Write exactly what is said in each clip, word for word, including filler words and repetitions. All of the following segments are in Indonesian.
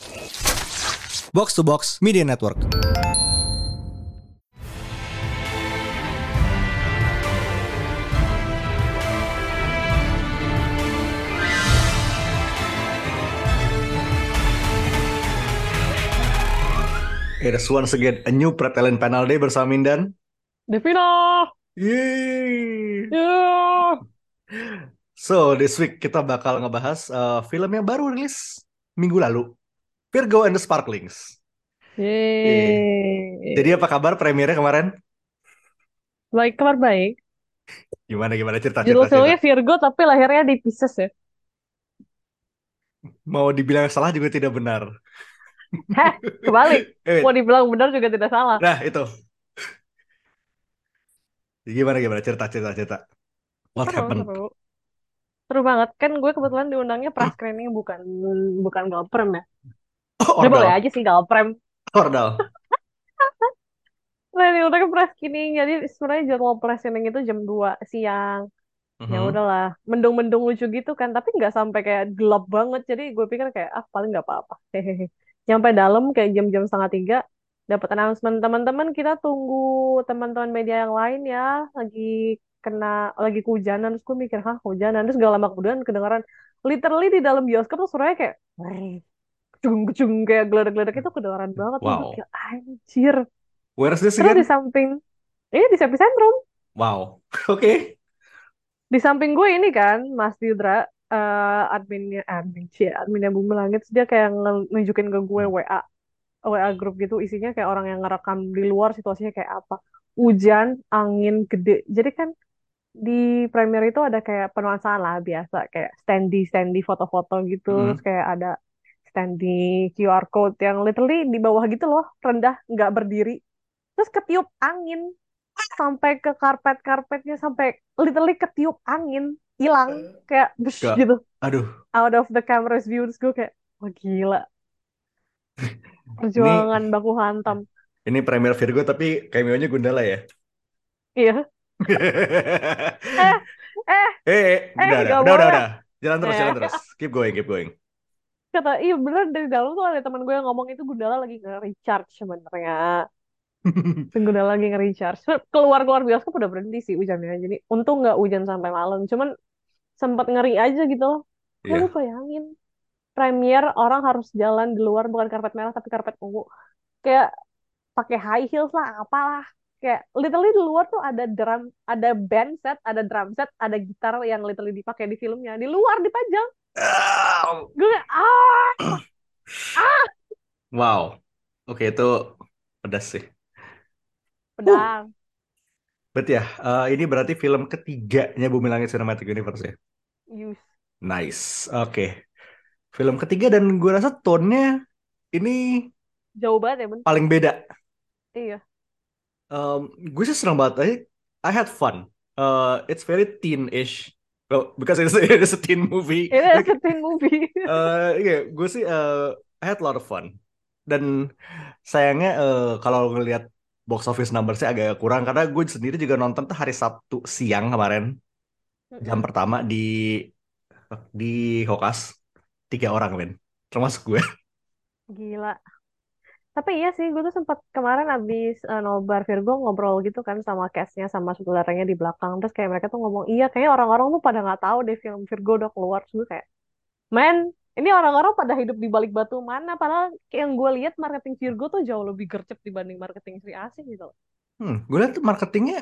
Box to Box Media Network. It is once again a new Pretalent Panel Day bersama Mindan. Devina. Yeay. Yeah. So this week kita bakal ngebahas uh, film yang baru rilis minggu lalu, Virgo and the Sparklings. Eh, Jadi Yeay. apa kabar premiernya kemarin? Baik, kabar baik. Gimana gimana cerita Judul cerita cerita. filmnya Virgo tapi lahirnya di Pisces ya. Mau dibilang salah juga tidak benar. Heh, kebalik. Eh, Mau dibilang benar juga tidak salah. nah itu gimana gimana cerita cerita cerita. What Seru, happened? seru. Seru banget. Kan gue kebetulan diundangnya press screening bukan bukan galprem ya. Oh, Ya boleh ordal, aja sih galprem. ordal. Nah, diundangnya press screening. Jadi sebenarnya jadwal press screening itu jam dua siang. Ya Mhm. udahlah, mendung-mendung lucu gitu kan, tapi nggak sampai kayak gelap banget. Jadi gue pikir kayak ah paling nggak apa-apa. Hehehe. Nyampe dalam kayak jam-jam setengah tiga, dapat announcement teman-teman kita tunggu teman-teman media yang lain ya, lagi kena lagi kehujanan. Terus gue mikir hah hujanan, terus gak lama kemudian kedengaran literally di dalam bioskop tuh suaranya kayak kecung-kecung kayak geledak-geledak itu kedengaran banget tuh gue Wow. kayak anjir. Where is this Terus di again? samping ini di Epicentrum. Wow. Oke. Di samping gue ini kan Mas Didra, eh adminnya admin sih adminnya Bumi Langit, terus dia kayak nge- nunjukin ke gue W A W A grup gitu, isinya kayak orang yang ngerekam di luar situasinya kayak apa, hujan angin gede. Jadi kan di Premiere itu ada kayak penuansaan lah biasa, kayak standy standy foto-foto gitu, terus Mhm. kayak ada standy Q R code yang literally di bawah gitu loh, rendah nggak berdiri, terus ketiup angin sampai ke karpet-karpetnya, sampai literally ketiup angin, hilang kayak bush Gak. gitu Aduh. out of the camera's view. Terus gue kayak wah gila, Ini perjuangan baku hantam. Ini premier Virgo tapi cameo-nya Gundala ya. Iya. eh eh Eh, eh udah, udah, gak udah, udah, boleh. udah. Jalan terus, eh jalan terus. Keep going, keep going. Kata iya bener, dari dalam tuh ada teman gue yang ngomong itu Gundala lagi nge-recharge sebenarnya. Gundala lagi nge-recharge. Keluar keluar bioskop udah berhenti sih hujannya, jadi untung nggak hujan sampai malam, cuman sempat ngeri aja gitu loh. Kayak lu Iya. bayangin premier orang harus jalan di luar bukan karpet merah tapi karpet ungu, kayak pakai high heels lah apalah, kayak literally di luar tuh ada drum, ada band set, ada drum set, ada gitar yang literally dipakai di filmnya di luar dipajang. Ah, Gue kayak ah ah wow. Oke, itu pedas sih. Uh, pedang. berarti ya, eh, ini berarti film ketiganya Bumi Langit Cinematic Universe ya. Yus. Nice. Oke. Film ketiga dan gue rasa tone-nya ini Jauh banget ya bun. paling beda. Iya. Um, gue sih senang banget. I, I had fun. Uh, it's very teen-ish. Well, because it's, it's a teen movie. Ini Like, teen movie. eh iya, gue sih eh, I had a lot of fun. Dan sayangnya eh, kalau ngelihat box office numbers-nya agak kurang karena gue sendiri juga nonton tuh hari Sabtu siang kemarin, jam Mm-mm. pertama di di Kokas, tiga orang men, termasuk gue. Gila. Tapi iya sih, gue tuh sempat kemarin abis eh, nobar Virgo ngobrol gitu kan sama castnya sama saudaranya di belakang. Terus kayak mereka tuh ngomong, iya kayaknya orang-orang tuh pada nggak tahu deh film Virgo udah keluar. Terus gue kayak, men, ini orang-orang pada hidup di balik batu mana? Padahal kayak yang gue lihat marketing Virgo tuh jauh lebih gercep dibanding marketing Sri Asih gitu. Hmm, gue lihat tuh marketingnya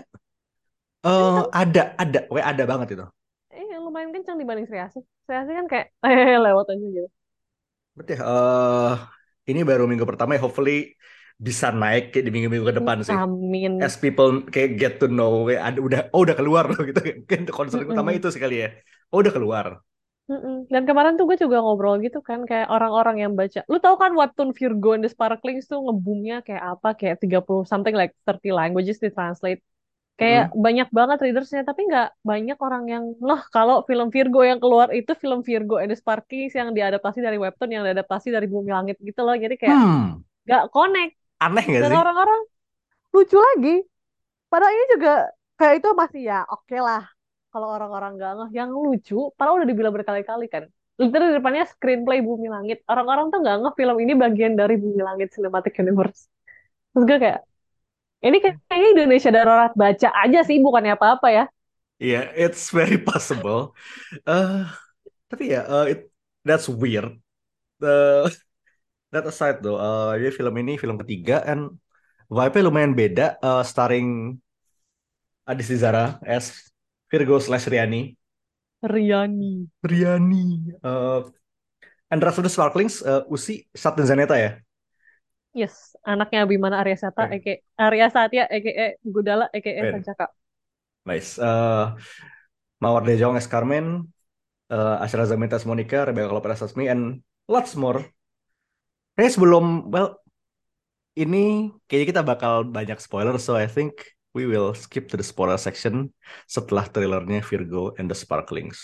eh Kenceng, ada ada, we ada banget itu. eh lumayan kenceng dibanding Sri Asih. Sri Asih kan kayak, eh lewat aja gitu. Berarti eh ini baru minggu pertama ya, hopefully bisa naik kayak di minggu-minggu ke depan sih. As Amin. people kayak get to know, kayak ada udah oh udah keluar loh gitu. Kan concern utama Mm-mm. itu sekali ya. Oh udah keluar. Mm-mm. Dan kemarin tuh gue juga ngobrol gitu kan, kayak orang-orang yang baca. Lu tahu kan webtoon Virgo and the Sparklings tuh ngeboomnya kayak apa? Kayak tiga puluh something like thirty languages ditranslate. Kayak Mm-mm. banyak banget readersnya, tapi nggak banyak orang yang ngeh kalau film Virgo yang keluar itu film Virgo and the Sparklings yang diadaptasi dari webtoon yang diadaptasi dari Bumi Langit gitu loh. Jadi kayak Hmm, nggak connect. aneh nggak Dan sih? orang-orang lucu lagi. Padahal ini juga kayak itu masih ya oke lah. Kalau orang-orang nggak ngeh, yang lucu, padahal udah dibilang berkali-kali kan. literally depannya screenplay Bumi Langit. Orang-orang tuh nggak ngeh film ini bagian dari Bumi Langit Cinematic Universe. Terus gue kayak, ini kayaknya Indonesia Darurat Baca aja sih, bukannya apa-apa ya. Iya, it's very possible. Eh, tapi ya, eh, it, that's weird. Eh, that aside though, eh jadi film ini film ketiga, and vibe-nya lumayan beda. eh, starring Adisti Zara as Virgo slash Riani. Riani. Riani. eh Andra the Sparklings, eh, Usi Sat dan Zaneta ya. Yes, anaknya Abimana Arya Sata, Eh, aka Arya Satya, aka Gudala, aka wait, Sancaka. nice. Eh Mawar De Jong as Carmen, eh Ashra Zamita as Monica, Rebecca Lopez as Me, and lots more. Kayaknya sebelum, well, ini kayaknya kita bakal banyak spoiler, so I think we will skip to the spoiler section setelah trailernya Virgo and the Sparklings.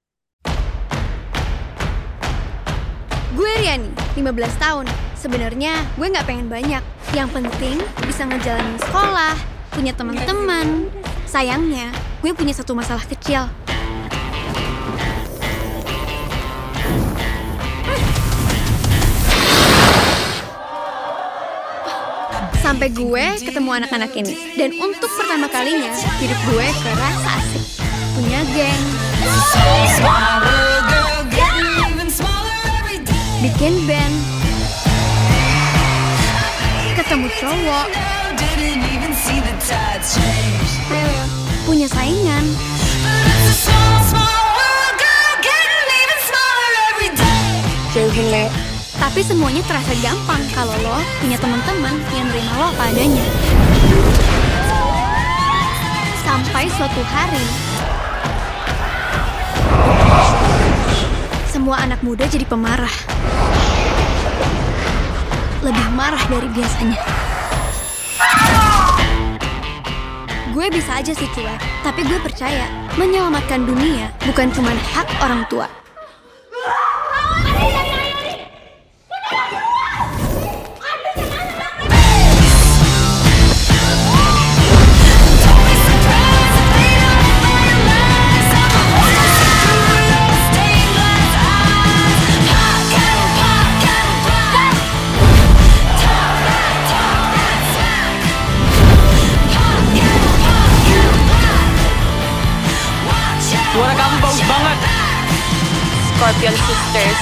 Gue Riani, lima belas tahun. Sebenarnya gue nggak pengen banyak. Yang penting bisa ngejalanin sekolah, punya teman-teman. Sayangnya, gue punya satu masalah kecil. Sampai gue ketemu anak-anak ini. Dan untuk pertama kalinya, hidup gue kerasa asik. Punya geng. Bikin band. Ketemu cowok. Punya saingan. Tapi semuanya terasa gampang kalau lo punya teman-teman yang nerima lo apa adanya. Sampai suatu hari, semua anak muda jadi pemarah. Lebih marah dari biasanya. Gue bisa aja sih cuek, tapi gue percaya menyelamatkan dunia bukan cuma hak orang tua. Suara kamu bagus banget. Scorpion Sisters.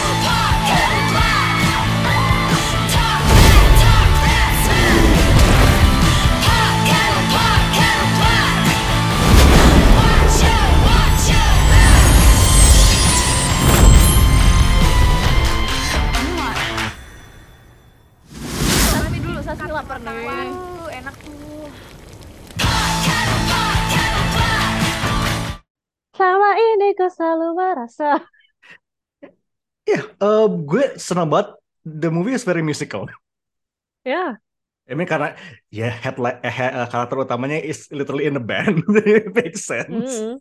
Tapi dulu Sasmi lapar nih. Waduh, enak tuh. Selama ini kau selalu merasa. Ya, eh, gue senang banget. The movie is very musical. Ya, I mean karena ya headline eh, he- eh, karakter utamanya is literally in the band. It makes sense. mm.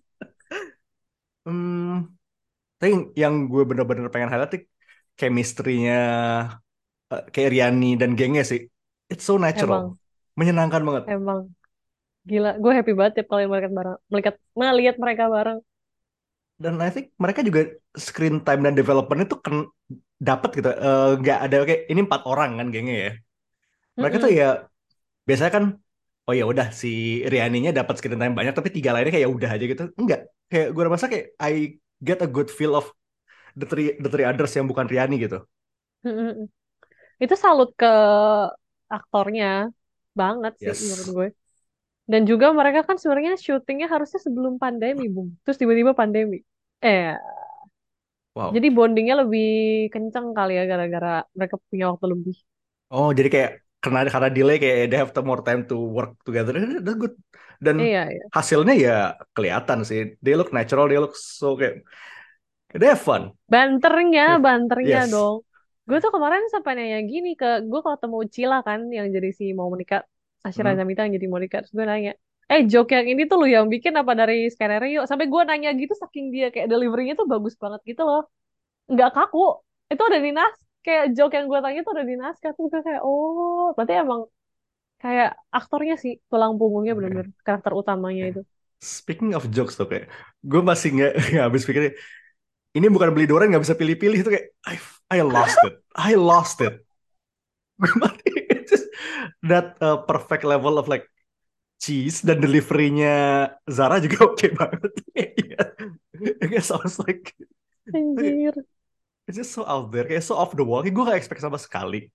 Hmm, tapi yang gue bener-bener pengen highlight tuh chemistry-nya eh, kayak Riani dan gengnya sih. It's so natural. Emang, Menyenangkan banget. emang gila. Gue happy banget tiap kali mereka bareng, melihat melihat mereka bareng. Dan I think mereka juga screen time dan development itu kan dapat gitu. Eh, Nggak ada kayak ini empat orang kan gengnya ya. Mereka tuh Mm-mm. ya biasanya kan oh ya udah si Rianinya dapat screen time banyak tapi tiga lainnya kayak ya udah aja gitu. Enggak. Kayak gue rasa kayak I get a good feel of the three the three others yang bukan Riani gitu. Mm-mm. Itu salut ke aktornya banget sih menurut Yes. gue. Dan juga mereka kan sebenarnya syutingnya harusnya sebelum pandemi, Bung. Terus tiba-tiba pandemi. Eh, Wow. jadi bondingnya lebih kenceng kali ya gara-gara mereka punya waktu lebih. Oh, jadi kayak karena karena delay kayak they have the more time to work together. That's good. Dan Iya, iya. hasilnya ya kelihatan sih. They look natural, they look so kayak they have fun. Banternya, banternya Yes. dong. Gue tuh kemarin sampai nanya gini ke gue kalau ketemu Cila kan yang jadi si mau menikah, Asyra Hmm. Zamita yang jadi mau menikah. Terus gue nanya, eh joke yang ini tuh lu yang bikin apa dari skenario? Sampai gue nanya gitu saking dia kayak deliverynya tuh bagus banget gitu loh. Nggak kaku. Itu udah di nas kayak joke yang gue tanya tuh udah di naskah. Terus gue kayak oh berarti emang kayak aktornya sih tulang punggungnya Oke. bener-bener karakter utamanya Oke. itu. Speaking of jokes tuh kayak gue masih nggak nggak habis pikir Ini bukan beli durian nggak bisa pilih-pilih itu kayak I I lost it, I lost it. Gue mati. It's just that uh, perfect level of like cheese dan deliverynya Zara juga oke banget. Iya, it sounds like Anjir. it's just so out there, kayak so off the wall. Kayak gue gak expect sama sekali.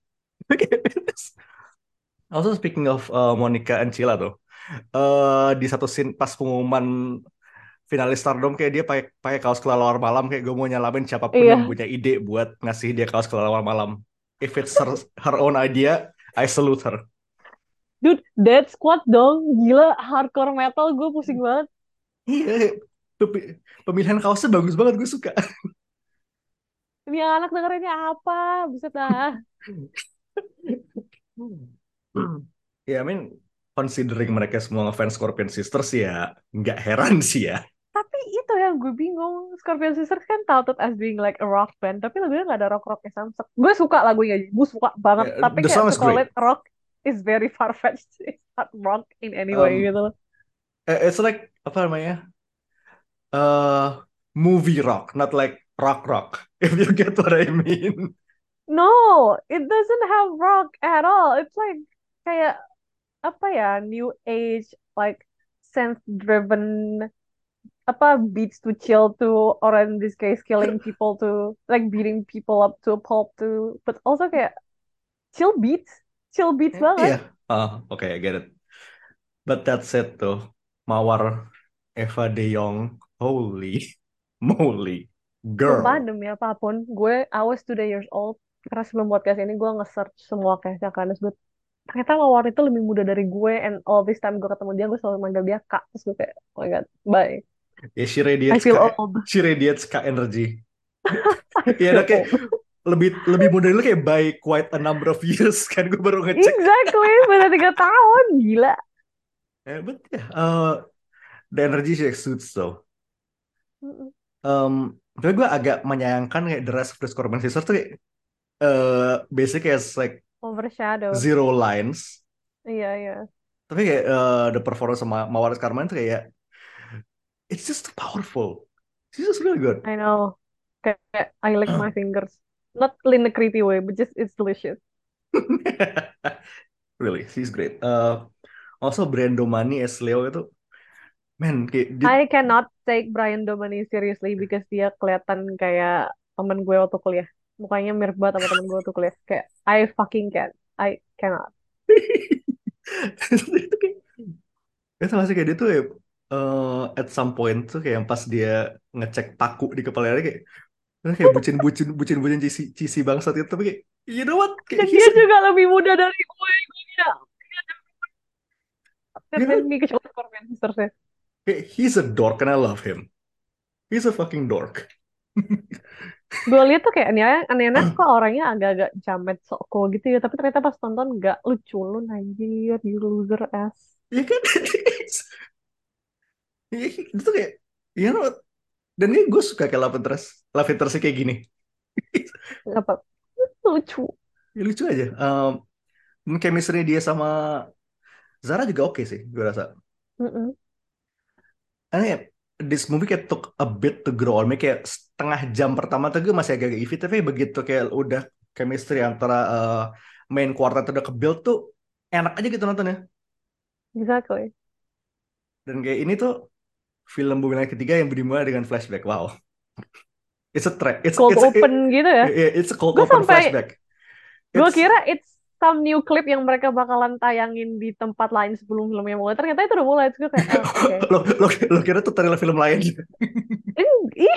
Also speaking of uh, Monica and Cilla tuh, uh, di satu scene pas pengumuman finalis Stardom kayak dia pakai pakai kaos kelelawar malam, kayak gue mau nyalamin siapapun yang Iya. punya ide buat ngasih dia kaos kelelawar malam. If it's her, her own idea, I salute her. Dude, Dead Squad dong. Gila, hardcore metal gue pusing banget. Iya, pem- pemilihan kaosnya bagus banget, gue suka. Ini anak dengerinnya apa? Buset dah. Ya, I mean, considering mereka semua ngefans Scorpion Sisters ya, nggak heran sih ya. Tapi itu yang gue bingung. Scorpion Sisters kan touted as being like a rock band. Tapi lagunya gak ada rock-rocknya samsek. Gue suka lagunya. Gue suka banget. Yeah, Tapi the kayak song to is call great. it rock is very far-fetched. It's not rock in any way Um, gitu loh. it's like apa namanya? Uh, movie rock, not like rock rock. If you get what I mean. No, it doesn't have rock at all. It's like kayak apa ya, new age, like synth-driven apa beats to chill to, or in this case killing people to, like beating people up to a pulp to, but also kayak chill beats, chill beats Eh, banget. Iya. Ah, oke, I get it. But that said tuh, Mawar Eva De Jong, holy moly, Sumpah girl. demi apapun, gue I was two years old karena sebelum podcast ini gue nge-search semua case-nya kan, terus gue ternyata Mawar itu lebih muda dari gue, and all this time gue ketemu dia gue selalu manggil dia kak, terus gue kayak oh my god, bye, Ya, she I radiates feel K, old, she radiates K energy. I Ya, feel nah, kayak old. lebih lebih muda dulu kayak by quite a number of years kan, gue baru ngecek. Exactly, beda tiga tahun, gila. Eh, but yeah, uh, the energy she exudes though. Mm-mm. Um, tapi gue agak menyayangkan kayak the rest of the Scorpion Sisters tuh kayak uh, basically as like Overshadowed. zero lines. Iya, iya. Tapi kayak uh, the performance sama Mawar Karman tuh kayak it's just too powerful. She's just really good. I know. Kayak I lick my fingers. Not in a creepy way, but just it's delicious. Really, she's great. Uh, also Brando Money as Leo itu, man, kayak dia, I cannot take Brian Domani seriously because dia kelihatan kayak temen gue waktu kuliah. Mukanya mirip banget sama temen gue waktu kuliah. Kayak I fucking can't. I cannot. itu kayak, itu masih kayak dia tuh ya, uh, at some point tuh kayak yang pas dia ngecek paku di kepala dia kayak, "Nah, kayak bucin-bucin bucin-bucin cisi cisi bangsat itu, tapi kayak you know what, kayak Dan he's dia a, juga lebih muda dari gue. Gue kayak you know, dan me kecuali Scorpion Sisters ya. kayak he's a dork and I love him. He's a fucking dork. Gue lihat tuh kayak ini aneh-aneh kok orangnya agak-agak jamet sok cool gitu ya. Tapi ternyata pas tonton gak lucu lu anjir, you loser ass. Ya kan? Itu kayak, you know, dan ini gue suka kayak love interest, love interest kayak gini. Apa? Lucu. Ya, lucu aja. Um, dan chemistry dia sama Zara juga oke sih, gue rasa. Mm-mm. Aneh, this movie kayak took a bit to grow on me. Kayak setengah jam pertama tuh gue masih agak iffy, tapi begitu kayak udah chemistry antara uh, main quartet udah ke-build tuh enak aja gitu nontonnya. Exactly. Dan kayak ini tuh film Bumi Langit Ketiga yang dimulai dengan flashback. Wow. It's a track. It's Cold it's open gitu ya. it- it's a cold Gue open sampai flashback. gue It's kira it's some new clip yang mereka bakalan tayangin di tempat lain sebelum filmnya mulai. Ternyata itu udah mulai. Terus gue kayak, oh, oke. lo, lo, lo kira tuh trailer film lain. Eng- Iya.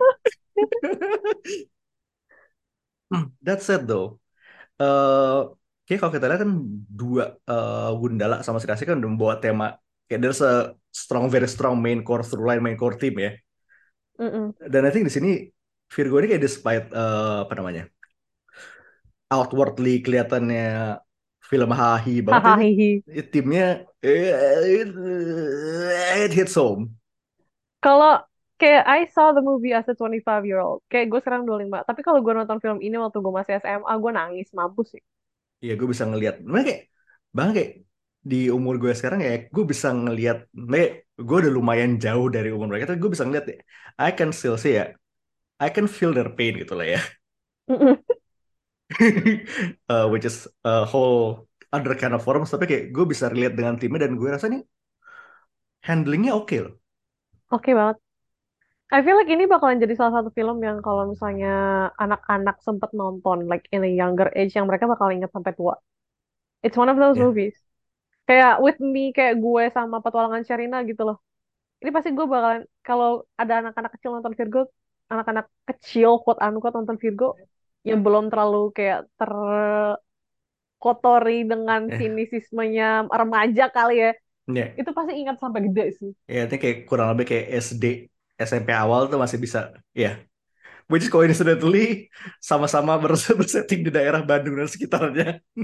That said though, eh kayak kalau kita lihat kan dua eh, Gundala sama Sri kan udah membawa tema kayak there's a strong, very strong main core through line, main core team ya. Mm-mm. Dan I think di sini Virgo ini kayak despite eh, apa namanya outwardly kelihatannya film hahi banget ini Hahaha. timnya eh, it, it hits home. Kalau kayak I saw the movie as a twenty-five year old. Kayak gue sekarang dua puluh lima. Tapi kalau gue nonton film ini waktu gue masih S M A, gue nangis mampus sih. Iya, gue bisa ngelihat. Mereka kayak bahkan kayak di umur gue sekarang ya, gue bisa ngelihat. Gue gue udah lumayan jauh dari umur mereka, tapi gue bisa ngelihat ya. I can still see ya. I can feel their pain gitu lah ya. Uh, which is a whole other kind of forms, tapi kayak gue bisa relate dengan timnya dan gue rasa nih handlingnya oke loh. Oke banget. I feel like ini bakalan jadi salah satu film yang kalau misalnya anak-anak sempet nonton like in a younger age yang mereka bakal ingat sampai tua. It's one of those Ya, movies. Kayak with me kayak gue sama Petualangan Sherina gitu loh. Ini pasti gue bakalan kalau ada anak-anak kecil nonton Virgo, anak-anak kecil quote unquote nonton Virgo yang belum terlalu kayak terkotori dengan eh, sinisismenya remaja kali ya. ya, Itu pasti ingat sampai gede sih. ya, itu kayak kurang lebih kayak S D, S M P awal tuh masih bisa, ya. Which is coincidentally sama-sama bers- bersetting di daerah Bandung dan sekitarnya.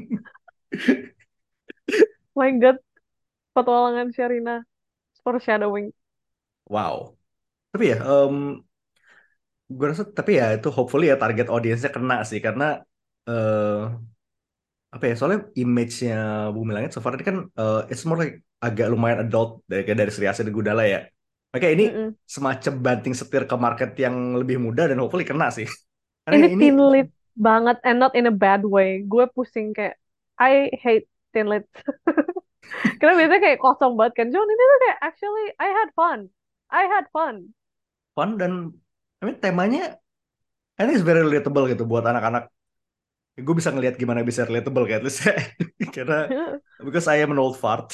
My God, Petualangan Sherina foreshadowing. Wow. Tapi ya, em, gue rasa tapi ya itu hopefully ya target audiensnya kena sih karena eh apa ya soalnya image-nya Bumi Langit so far ini kan eh, it's more like agak lumayan adult dari kayak dari Sri Asih dan Gundala ya. Makanya ini Mm-mm. semacam banting setir ke market yang lebih muda dan hopefully kena sih. Karena Ini ini teen lit banget and not in a bad way. Gue pusing kayak I hate teen lit. Karena biasanya kayak kosong banget kan. Cuman ini tuh kayak actually I had fun. I had fun. fun dan I mean, temanya I think it's very relatable gitu buat anak-anak. Gue bisa ngelihat gimana bisa relatable kayak at least karena because I am an old fart.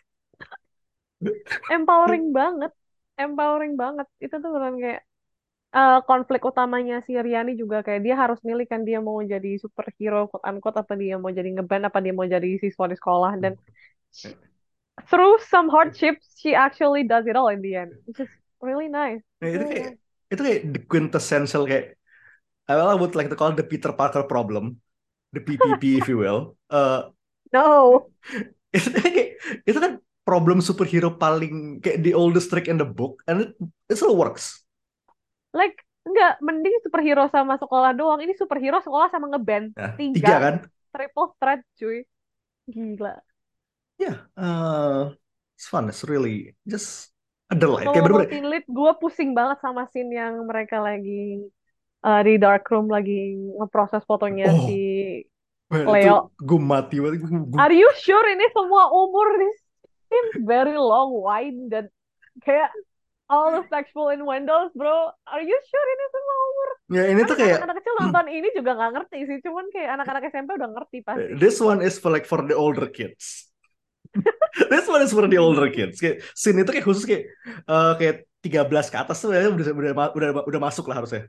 Empowering banget. Empowering banget. Itu tuh beneran kayak eh, konflik utamanya si Riani juga kayak dia harus milih kan dia mau jadi superhero quote unquote apa dia mau jadi ngeband apa dia mau jadi siswa di sekolah dan through some hardships she actually does it all in the end which is really nice. Nah, It's itu really kayak nice. itu kayak the quintessential kayak I would like to call it the Peter Parker problem, the P P P if you will. Eh, No. itu kayak itu kan problem superhero paling kayak the oldest trick in the book and it, it still works. Like enggak mending superhero sama sekolah doang. Ini superhero sekolah sama ngeband. Nah, tiga Tiga kan? triple threat cuy. Gila. Ya, eh, it's fun. It's really just a delight. Kayak Ngomong-ngomong bener-bener. teen lead, gue pusing banget sama scene yang mereka lagi eh, di dark room lagi ngeproses fotonya si Oh, man, itu Leo. gue mati banget. Gue, gue, Are you sure ini semua umur? This seems very long, wide, dan kayak all the sexual innuendos, bro. Are you sure ini semua umur? ya ini tuh Karena kayak anak-anak kecil nonton ini juga nggak ngerti sih. Cuman kayak anak-anak S M P udah ngerti pasti. this one is for like for the older kids. This one is for the older kids. Kayak scene itu kayak khusus kayak eh, kayak tiga belas ke atas tuh ya udah udah udah, udah masuk lah harusnya.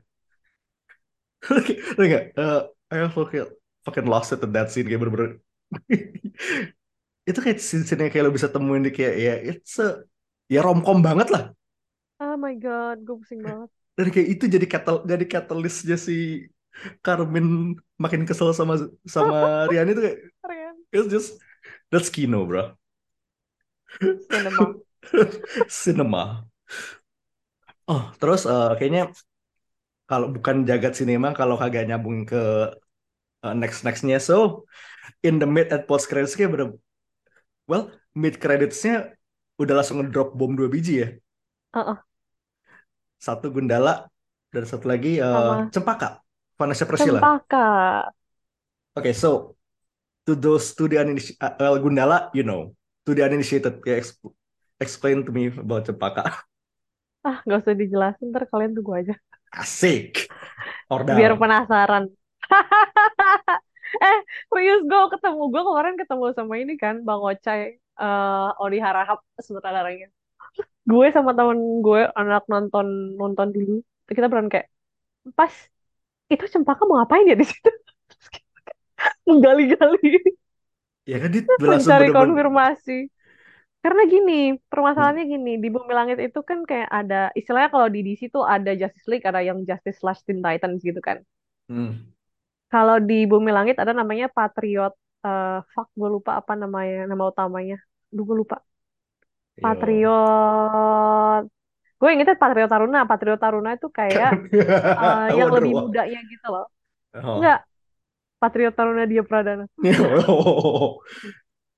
Udah nggak? Eh, I fucking fucking lost it in that scene kayak bener-bener. Itu kayak scene-scene yang kayak lo bisa temuin di kayak ya it's a, ya romcom banget lah. Oh my God, gue pusing banget. Dan kayak itu jadi katal jadi catalystnya si Carmen makin kesel sama sama Rian itu kayak Keren. it's just that's kino bro. Cinema. Cinema. Oh terus eh, kayaknya kalau bukan jagat sinema kalau kagak nyambung ke eh, next nextnya so in the mid at post credits kayak bener well mid creditsnya udah langsung ngedrop bom dua biji ya. Uh-uh. Satu Gundala dan satu lagi eh, Sama Cempaka, Vanessa Priscilla. Cempaka. Oke, so to those to the uniniti- uh, well, Gundala, you know, to the uninitiated, yeah, ex- explain to me about Cempaka. Ah, nggak usah dijelasin, ntar kalian tunggu aja. Asik, Biar ordal. penasaran. Eh, serius gue ketemu gue kemarin ketemu sama ini kan Bang Ocai, eh Odi Harahap sutradaranya. Gue sama temen gue anak nonton nonton dulu. Kita beran kayak pas itu Cempaka mau ngapain ya di situ? Menggali-gali, Ya kan dia langsung mencari bener-bener. konfirmasi. Karena gini, Hmm, permasalahannya gini, di Bumi Langit itu kan kayak ada, istilahnya kalau di D C tuh ada Justice League, ada yang Justice slash Teen Titans gitu kan. hmm. Kalau di Bumi Langit ada namanya Patriot, eh fuck gue lupa apa namanya, nama utamanya. Duh gue lupa. Yo. Patriot, gue ingetnya Patriot Taruna. Patriot Taruna itu kayak eh, yang lebih Waduh. mudanya gitu loh. Oh. Enggak, Patriot Taruna Dia Pradana.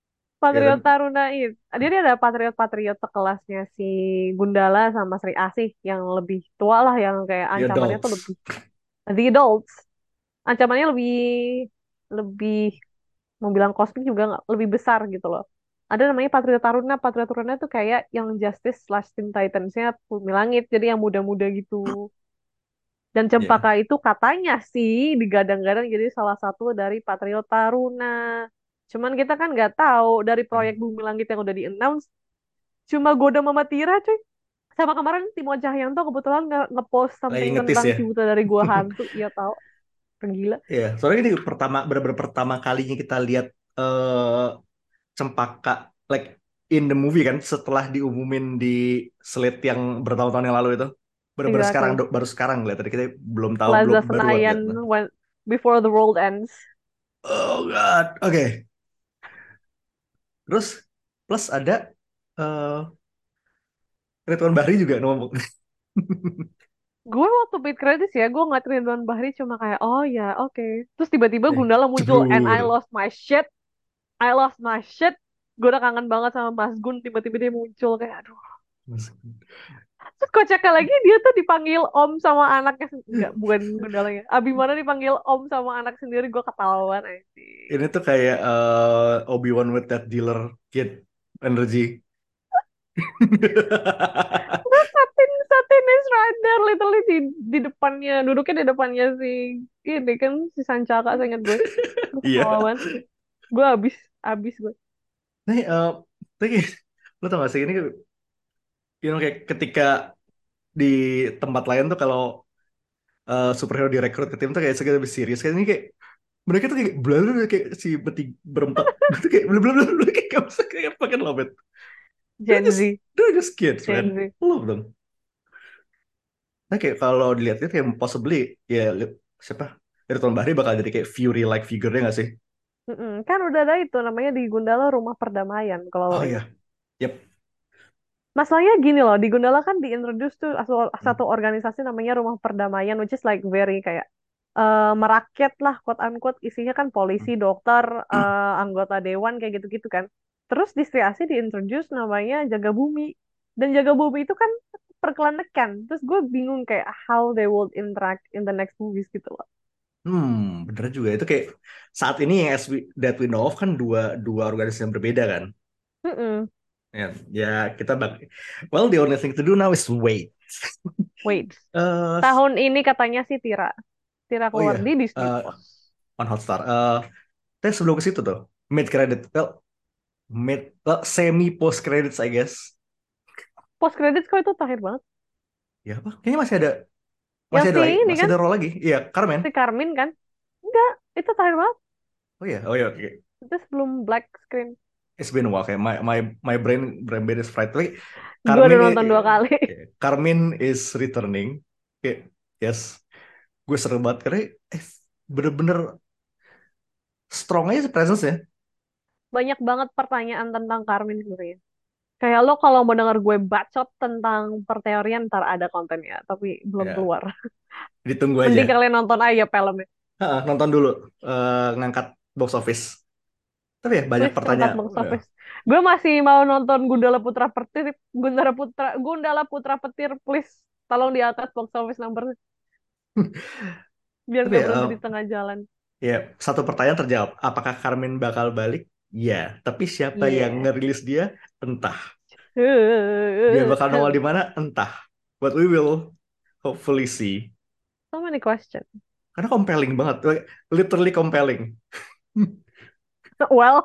Patriot kan? Taruna itu. Dia ada patriot-patriot sekelasnya si Gundala sama Sri Asih yang lebih tua lah, yang kayak The ancamannya tuh adults. lebih the adults. Ancamannya lebih lebih mau bilang kosmik juga nggak, lebih besar gitu loh. Ada namanya Patriot Taruna. Patriot Taruna tuh kayak yang Justice slash Teen Titans-nya Bumi Langit. Jadi yang muda-muda gitu. Dan Ya. Cempaka itu katanya sih digadang-gadang jadi salah satu dari Patriot Taruna. Cuman kita kan nggak tahu dari proyek Bumi Langit yang udah di-announce. Cuma Goda Mama Tira cuy. Sama kemarin Timo Cahyanto kebetulan nge- nge-post Lagi something ngetis tentang ya. Cibuta dari Gua Hantu. Iya tahu. Gila. Iya, soalnya ini pertama benar-benar pertama kalinya kita lihat eh Cempaka like in the movie kan setelah diumumin di slate yang bertahun-tahun yang lalu itu. Benar-benar sekarang Exactly. do- baru sekarang lihat tadi kita belum tahu belum Plaza baru buat lihat. Senayan when before the world ends. Oh God. Oke. Terus plus ada eh Ridwan Bahri juga ngomong. Gue waktu mid credits ya, gue ngeliat Ridwan Bahri cuma kayak, oh ya, oke. Terus tiba-tiba Eh, Gundala muncul, and I Cebrur. lost my shit. I lost my shit. Gue udah kangen banget sama Mas Gun, tiba-tiba dia muncul kayak, aduh. Terus kocaknya lagi dia tuh dipanggil Om sama anaknya, sen- enggak, bukan Gundalanya. Abimana dipanggil Om sama anak sendiri, gue ketahuan Ini anjing. tuh kayak eh, Obi-Wan with that dealer kid energy. Terus Satin, Satin is right there, literally di, di depannya, duduknya di depannya si, ini kan, si Sancaka, saya ingat gue. Gue Iya. ketahuan. Gue abis, abis gue. Nih, eh, tapi lo tau gak sih ini, you know, kayak ketika di tempat lain tuh kalau eh, superhero direkrut ke tim tuh kayak segala lebih serius. Kayak ini kayak mereka tuh kayak bla bla bla, kayak si bertiga berempat itu kayak bla bla bla bla, kayak gak bisa kayak fucking love it. They're Gen just Z, they're just kids, man. Gen Z. I love them. Nah, kayak kalau dilihat-lihat kayak possibly ya li- siapa? Ridwan Bahri bakal jadi kayak Fury like figure-nya gak sih? Mm-mm. Kan udah ada itu namanya di Gundala Rumah Perdamaian kalau lo Oh ingat. iya. Yep. Masalahnya gini loh, di Gundala kan diintroduce tuh asu- Hmm. satu organisasi namanya Rumah Perdamaian, which is like very kayak eh, merakyat lah, quote unquote, isinya kan polisi, dokter, eh, anggota dewan kayak gitu-gitu kan. Terus di Sri Asih diintroduce namanya Jaga Bumi. Dan Jaga Bumi itu kan perkelenekan. Terus gue bingung kayak how they will interact in the next movies gitu loh. Hmm, bener juga itu kayak saat ini yang as we, that we know of kan dua dua organisasi yang berbeda kan. Mm-mm. Ya, ya kita bak. Well, the only thing to do now is wait. Wait, Eh, tahun ini katanya sih Tira. Tira oh keluar iya, di Disney eh, Plus. on Hotstar. Eh, tapi sebelum ke situ tuh, mid credit, well, mid, well, semi post credits I guess. Post credits kok itu terakhir banget. Ya apa? Kayaknya masih ada, Yang masih ada si lagi, ini masih kan, ada role lagi. Iya, Carmen. si Carmin kan? Enggak, itu terakhir banget. Oh iya, oh iya, oke. Itu sebelum black screen. It's been a while. Kayak my my my brain brain brain is fried. Tapi Gue udah Carmen, i- nonton dua kali. Carmen is returning. Kayak yes, gue seru banget karena eh, bener-bener strong aja presence ya. Banyak banget pertanyaan tentang Carmin sebenarnya. Kayak lo kalau mau denger gue bacot tentang perteorian ntar ada kontennya, tapi belum Ya, keluar. ditunggu Mending aja. kalian nonton aja filmnya. Ha, nonton dulu eh, ngangkat box office. Tapi ya banyak Please ngangkat pertanyaan. box office. Gue masih mau nonton Gundala Putra Petir, Gundala Putra, Gundala Putra Petir, please tolong di atas box office number biar Tapi nggak ya, berhenti eh, di tengah jalan. ya satu pertanyaan terjawab. Apakah Carmen bakal balik? Ya, tapi siapa yang Yeah. ngerilis dia? Entah. Dia bakal nongol di mana? Entah. But we will hopefully see. So many questions. Karena compelling banget, like, literally compelling. Well,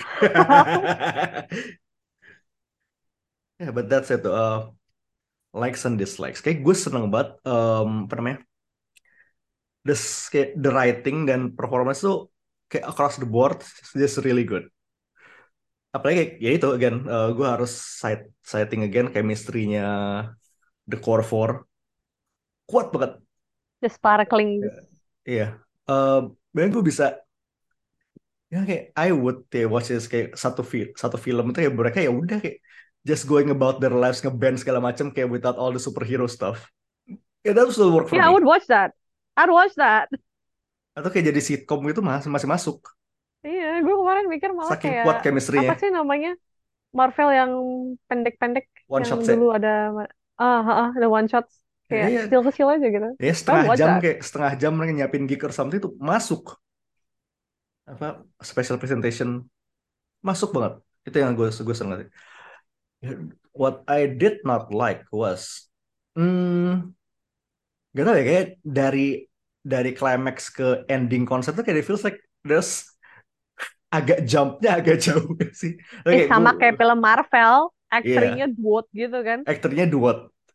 Ya, but that's it. Uh, likes and dislikes. Kayak gue seneng banget, um, apa namanya, this, kayak the writing dan performance tuh kayak across the board, just really good. Apalagi kayak, ya itu, again, uh, gue harus cite, citing again chemistry-nya The Core Four. Kuat banget. the sparkling. Iya. Uh, Bahkan gue bisa, ya kayak I would ya, watch this kayak satu film satu film itu ya mereka ya udah kayak just going about their lives ngeband segala macam kayak without all the superhero stuff. Ya that still work for Yeah, I me. would watch that. I'd watch that. Atau kayak jadi sitcom gitu masih masih masuk. Iya, gue kemarin mikir malah Saking kuat kayak apa chemistry-nya. sih namanya Marvel yang pendek-pendek One yang shot sih. dulu ada ah, ah, ah, ada one shots Ya, kayak ya, kecil-kecil aja gitu. ya I setengah watch jam that. kayak setengah jam mereka nyiapin gig or something itu masuk apa special presentation masuk banget. Itu yang gue gue seneng. What I did not like was hmm, gak tau ya kayak dari dari climax ke ending konsep tuh kayak it feels like there's agak jumpnya agak jauh gak sih. Eh Oke, gue sama kayak film Marvel, iya aktornya duot gitu kan. aktornya dua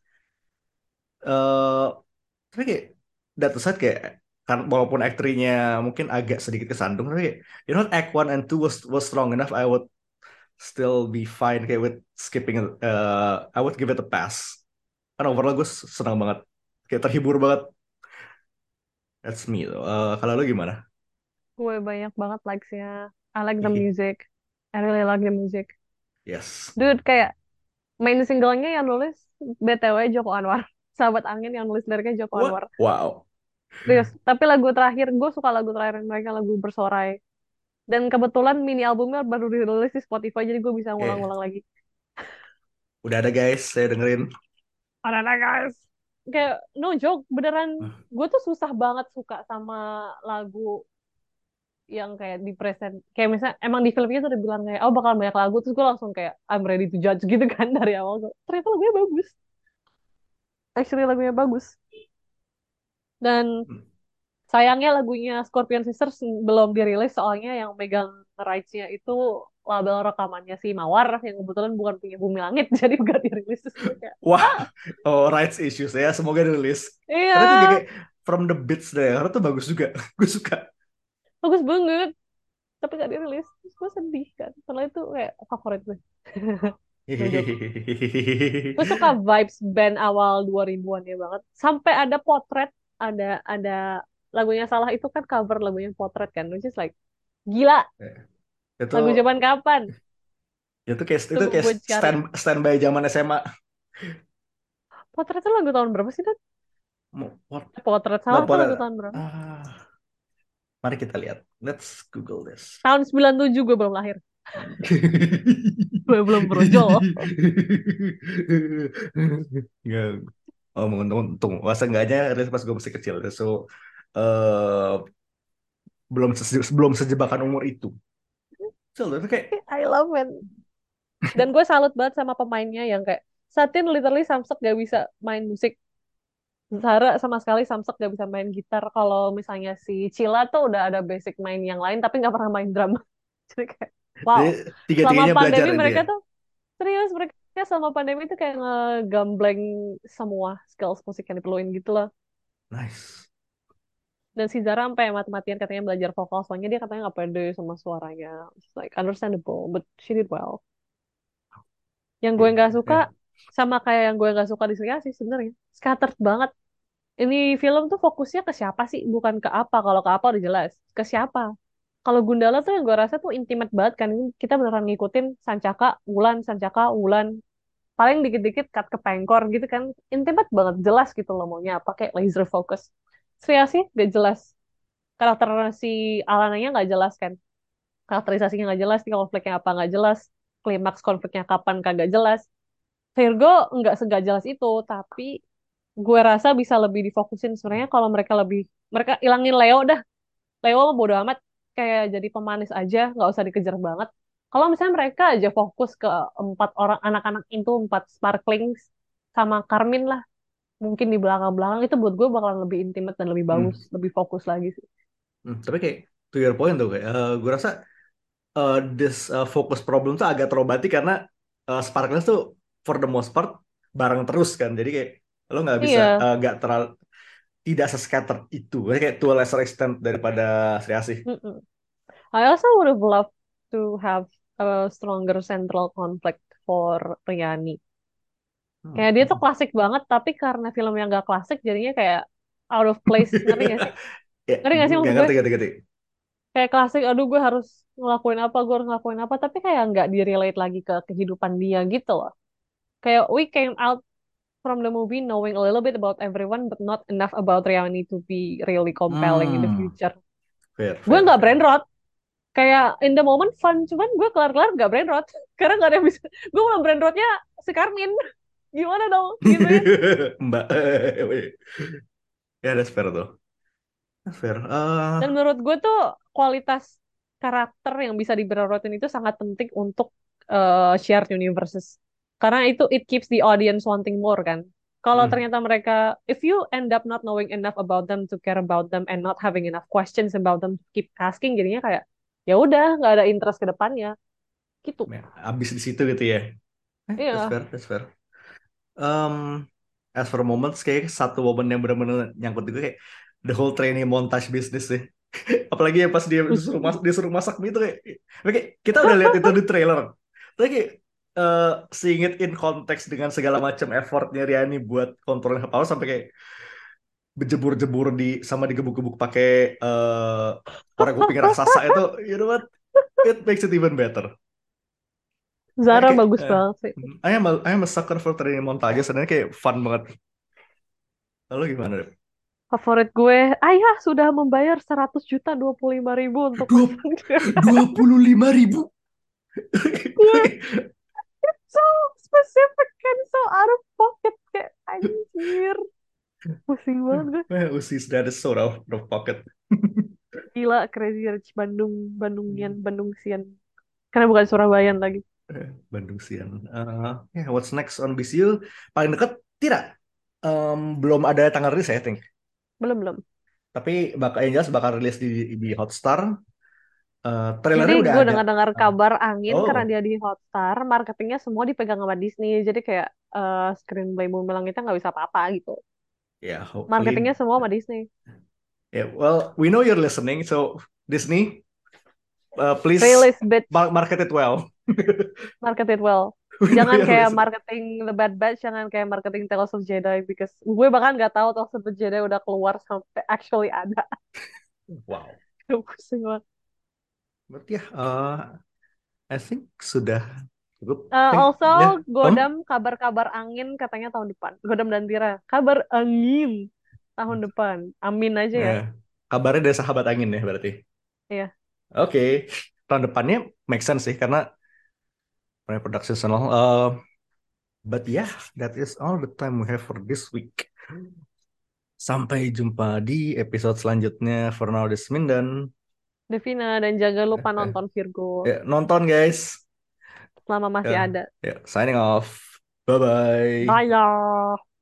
eh tapi kayak that aside kayak kan walaupun aktornya mungkin agak sedikit kesandung tapi kayak, you know act one and two was was strong enough I would still be fine kayak with skipping it. uh, I would give it a pass kan overall gue senang banget kayak terhibur banget. That's me though. Eh, kalau lu gimana? Gue banyak banget likes-nya. I like the music. I really like the music. Yes. Dude, kayak main singlenya yang nulis B T W Joko Anwar. Sahabat Angin yang nulis liriknya Joko What? Anwar. Wow. Serius. Tapi lagu terakhir, gue suka lagu terakhir mereka, lagu Bersorai. Dan kebetulan mini albumnya baru dirilis di Spotify, jadi gue bisa Oke, ngulang-ngulang lagi. udah ada guys, saya dengerin. Ada guys. Kayak no joke, beneran gue tuh susah banget suka sama lagu yang kayak di present. Kayak misalnya emang di filmnya tuh udah bilang kayak, oh bakal banyak lagu, terus gue langsung kayak I'm ready to judge gitu kan dari awal. Ternyata lagunya bagus. Actually lagunya bagus. Dan sayangnya lagunya Scorpion Sisters belum dirilis soalnya yang megang rights-nya itu label rekamannya si Mawar yang kebetulan bukan punya Bumi Langit jadi gak dirilis. Terus gue kayak, Wah, ah, oh rights issues ya, semoga dirilis. iya, Karena itu juga kayak from the beats deh, karena tuh bagus juga. Gue suka. bagus banget. Tapi gak dirilis. Terus gue sedih kan. Setelah itu kayak favorit gue. No joke. Gue suka vibes band awal dua ribuan ya banget. Sampai ada potret, ada ada lagunya Salah itu kan cover lagunya Potret kan. Which is like, gila, Itu lagu zaman kapan? itu kayak itu Tunggu kayak gue cari. stand standby zaman S M A. Potret itu lagu tahun berapa sih, kan? Mau- what- Potret Nggak Salah itu boleh. lagu tahun berapa? Ah, mari kita lihat. Let's Google this. Tahun sembilan puluh tujuh gue belum lahir. Gue belum brojol. Nggak. Oh, untung, untung. Masa enggaknya rilis pas gue masih kecil. So, eh belum se- belum sejebakan umur itu. So, itu kayak I love it. Dan gue salut banget sama pemainnya yang kayak Satin literally Samsek gak bisa main musik. Zara sama sekali Samsek gak bisa main gitar. Kalau misalnya si Cila tuh udah ada basic main yang lain tapi gak pernah main drum. Jadi kayak jadi wow. Selama tiga-tiganya belajar pandemi dia. mereka tuh serius mereka selama pandemi tuh kayak ngegambleng semua skills musik yang diperluin gitu loh. Nice. Dan si Zara sampai mati-matian katanya belajar vokal soalnya dia katanya nggak pede sama suaranya. It's like understandable, but she did well. Yang gue nggak suka Yeah. sama kayak yang gue nggak suka di Sri Asih sebenarnya. Scattered banget. Ini film tuh fokusnya ke siapa sih? Bukan ke apa. Kalau ke apa udah jelas. Ke siapa? Kalau Gundala tuh yang gue rasa tuh intimate banget kan. Ini kita beneran ngikutin Sancaka, Wulan, Sancaka, Wulan. Paling dikit-dikit cut ke Pengkor gitu kan. Intimate banget. Jelas gitu loh maunya apa. Kayak laser focus. Sri Asih gak jelas. Karakter si Alananya nggak jelas kan. Karakterisasinya nggak jelas. Nih konfliknya apa nggak jelas. Klimaks konfliknya kapan kagak jelas. Virgo nggak segak jelas itu. Tapi gue rasa bisa lebih difokusin sebenarnya kalau mereka lebih mereka ilangin Leo dah. Leo mah bodo amat kayak jadi pemanis aja, nggak usah dikejar banget. Kalau misalnya mereka aja fokus ke empat orang anak-anak itu, empat sparklings sama Karmin lah, mungkin di belakang-belakang itu buat gue bakalan lebih intimate dan lebih Hmm. bagus, lebih fokus lagi sih. Hmm, tapi kayak to your point tuh kayak eh, gue rasa eh, this eh, focus problem tuh agak terobati karena uh, Sparklers tuh for the most part bareng terus kan. Jadi kayak lo nggak bisa Iya, eh, nggak terlalu tidak se-scattered itu. Kayak to a lesser extent daripada Sri Asih. mm-mm. I also would have loved to have a stronger central conflict for Riani. Hmm. Kayak dia tuh klasik banget, tapi karena film yang gak klasik jadinya kayak out of place, ngerti gak sih? Ya, Ngerti gak sih nggak maksud gue? ngerti ngerti ngerti. Kayak klasik, aduh gue harus ngelakuin apa, gue harus ngelakuin apa, tapi kayak nggak di-relate lagi ke kehidupan dia gitu loh. Kayak we came out from the movie knowing a little bit about everyone, but not enough about Riani to be really compelling in the Hmm. future. Fair, Gue fair, nggak fair. brain rot, Kayak in the moment fun, cuman gue kelar-kelar gak brain rot karena gak ada yang bisa. Gue malah brain rotnya si Karmin. Gimana dong gituin? Mbak. Ya, that's fair tuh. That's fair. Eh, Dan menurut gue tuh kualitas karakter yang bisa di brain rotin itu sangat penting untuk eh, shared universes. Karena itu it keeps the audience wanting more kan. Kalau hmm. ternyata mereka, if you end up not knowing enough about them to care about them and not having enough questions about them to keep asking, jadinya kayak ya udah nggak ada interest ke depannya gitu. Ya, abis di situ gitu ya. Eh, that's Iya. fair, that's fair. Um, as for moments, kayak satu momen yang benar-benar nyangkut juga kayak the whole training montage business sih. Apalagi yang pas dia disuruh, mas disuruh masak mie itu kayak, kayak kita udah lihat itu di trailer. Tapi kayak eh seeing it in konteks dengan segala macam effortnya Riani buat kontrolin kepala sampai kayak berjebur-jebur di sama digebuk-gebuk pakai eh orang kuping raksasa itu, you know what? It makes it even better. Kayak, Zara kayak bagus eh, banget sih. I am a, I am a sucker for training montage, sebenarnya kayak fun banget. Lalu gimana deh? Favorit gue, ayah sudah membayar seratus juta dua puluh lima ribu untuk Dua, pasang dia. dua puluh lima ribu. So specific and so out of pocket kayak anjir. Pusing banget gue. Eh, Usis that is so out of pocket. Gila Crazy Rich Bandung, Bandungian, Bandungsian. Karena bukan Surabayaan lagi. Eh, Bandung Sian. Eh, yeah, what's next on B C U? Paling dekat tidak. Em, belum ada tanggal rilis ya, I think. Belum, belum. Tapi bakal yang jelas bakal rilis di di Hotstar. Eh, Jadi trailernya udah gue ada. dengar-dengar Ah. kabar angin Oh, karena dia di Hotstar, marketingnya semua dipegang sama Disney. Jadi kayak eh screenplay Bumerang itu nggak bisa apa-apa gitu. yeah, hopefully. Marketingnya semua sama Disney. Yeah, well, we know you're listening, so Disney, uh, please Release bitch, mar- market it well. market it well. We know Jangan you're kayak listening. marketing The Bad Batch, jangan kayak marketing Tales of Jedi, because gue bahkan nggak tahu Tales of the Jedi udah keluar sampai actually ada. Wow. Pusing banget. Berarti ya, uh, I think sudah cukup. Uh, Think, also, ya. Godam kabar-kabar angin katanya tahun depan. Godam dan Tira, kabar angin tahun depan. Amin aja ya. Nah, kabarnya dari sahabat angin ya berarti. Iya. Oke, tahun depannya make sense sih karena production and all. Uh, but yeah, that is all the time we have for this week. Sampai jumpa di episode selanjutnya. For now, this is Mindan. Devina, dan jangan lupa Eh, nonton Virgo Ya, nonton guys. selama masih Ya, ada. ya, signing off. Bye bye. Bye.